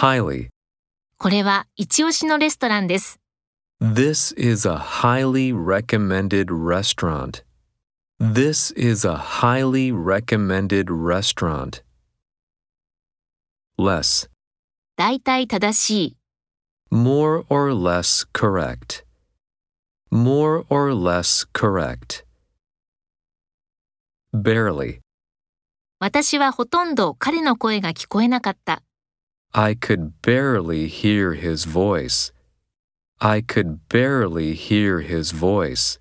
highly. これは一押しのレストランです。 This is a highly recommended restaurant. This is a highly recommended restaurant. Less. だいたい正しい。 More or less correct. More or less correct. Barely. 私はほとんど彼の声が聞こえなかった。 I could barely hear his voice. I could barely hear his voice.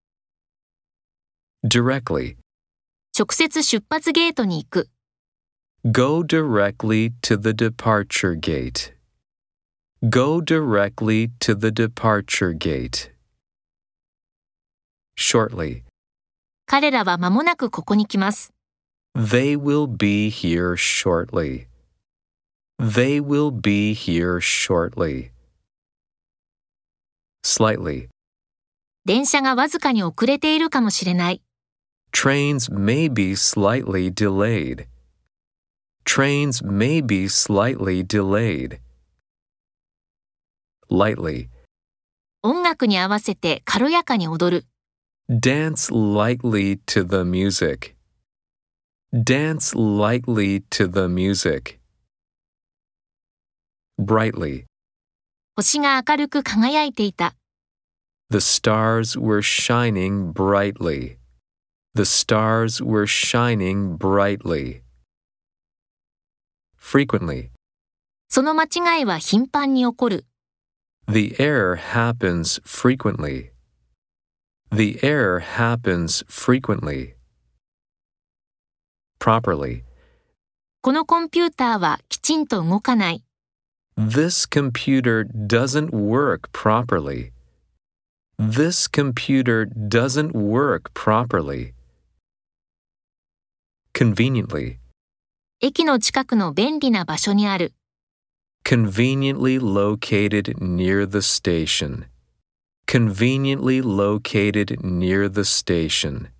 Directly. 直接出発ゲートに行く。 Go directly to the departure gate. Go directly to the departure gate. Shortly. 彼らは間もなくここに来ます。 They will be here shortly. They will be here shortly. Slightly. 電車がわずかに遅れているかもしれない。 Trains may be slightly delayed. Trains may be slightly delayed. Lightly. 音楽に合わせて軽やかに踊る。 Dance lightly to the music. Dance lightly to the music. Brightly. 星が明るく輝いていた。 The stars were shining brightly. The stars were shining brightly. Frequently. その間違いは頻繁に起こる。 The error happens frequently. The error happens frequently. Properly. このコンピューターはきちんと動かない。 This computer doesn't work properly. This computer doesn't work properly. Conveniently. 駅の近くの便利な場所にある。 Conveniently located near the station. Conveniently located near the station.